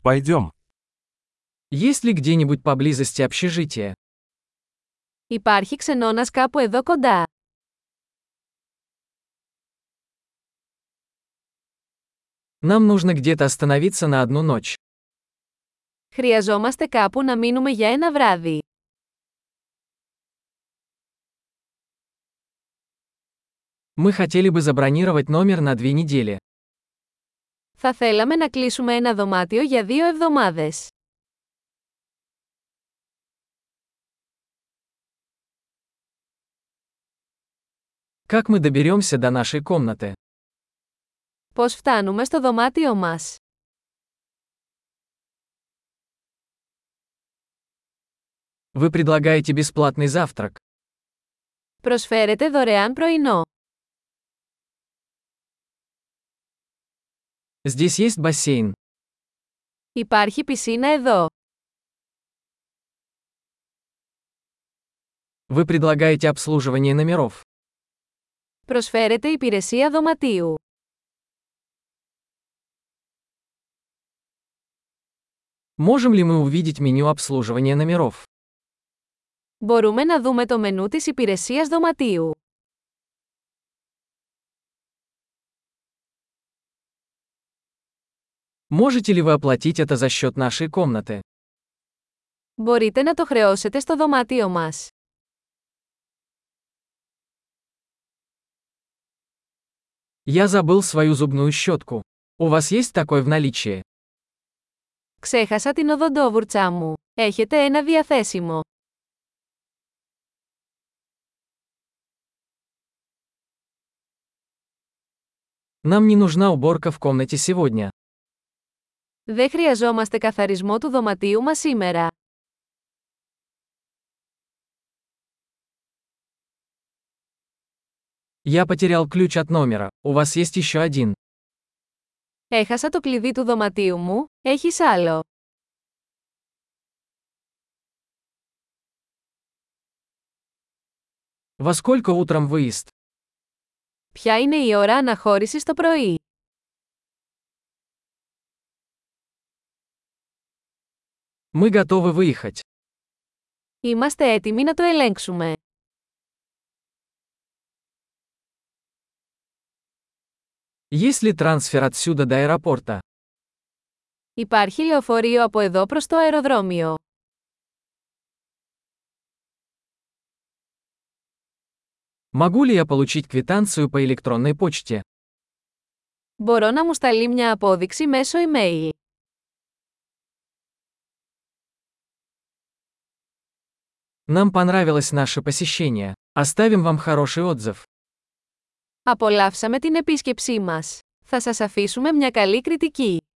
Пойдем. Есть ли где-нибудь поблизости общежитие? Υπάρχει ξενώνας κάπου εδώ κοντά. Нам нужно где-то остановиться на одну ночь. Χρειαζόμαστε κάπου να μείνουμε για ένα βράδυ. Мы хотели бы забронировать номер на 2 недели. Θα θέλαμε να κλείσουμε ένα δωμάτιο για 2 εβδομάδες. Как мы доберемся до нашей комнаты? Πώς φτάνουμε στο δωμάτιο μας? Вы предлагаете бесплатный завтрак. Προσφέρετε δωρεάν πρωινό. Здесь есть бассейн. Υπάρχει πισίνα εδώ. Вы предлагаете обслуживание номеров. Προσφέρετε υπηρεσία δωματίου. Можем ли мы увидеть меню обслуживания номеров? Μπορούμε να δούμε το μενού της υπηρεσίας δωματίου. Можете ли вы оплатить это за счет нашей комнаты? Μπορείτε να το χρεώσετε στο δωμάτιο μας. Я забыл свою зубную щетку. У вас есть такой в наличии? Ξέχασα την οδοντόβουρτσά μου. Έχετε ένα διαθέσιμο. Нам не нужна уборка в комнате сегодня. Δεν χρειαζόμαστε καθαρισμό του δωματίου μας σήμερα. Я потерял ключ от номера. У вас есть еще один. Έχασα το κλειδί του δωματίου μου, έχεις άλλο. Во сколько утром выезд? Ποια είναι η ώρα αναχώρησης το πρωί? Мы готовы выехать. Είμαστε έτοιμοι να το ελέγξουμε. Есть ли трансфер отсюда до аэропорта? Υπάρχει λεωφορείο από εδώ προς το αεροδρόμιο. Могу ли я получить квитанцию по электронной почте? Μπορώ να μου σταλεί μια απόδειξη μέσω email. Нам понравилось наше посещение. Оставим вам хороший отзыв. Απολαύσαμε την επίσκεψή μας. Θα σας αφήσουμε μια καλή κριτική.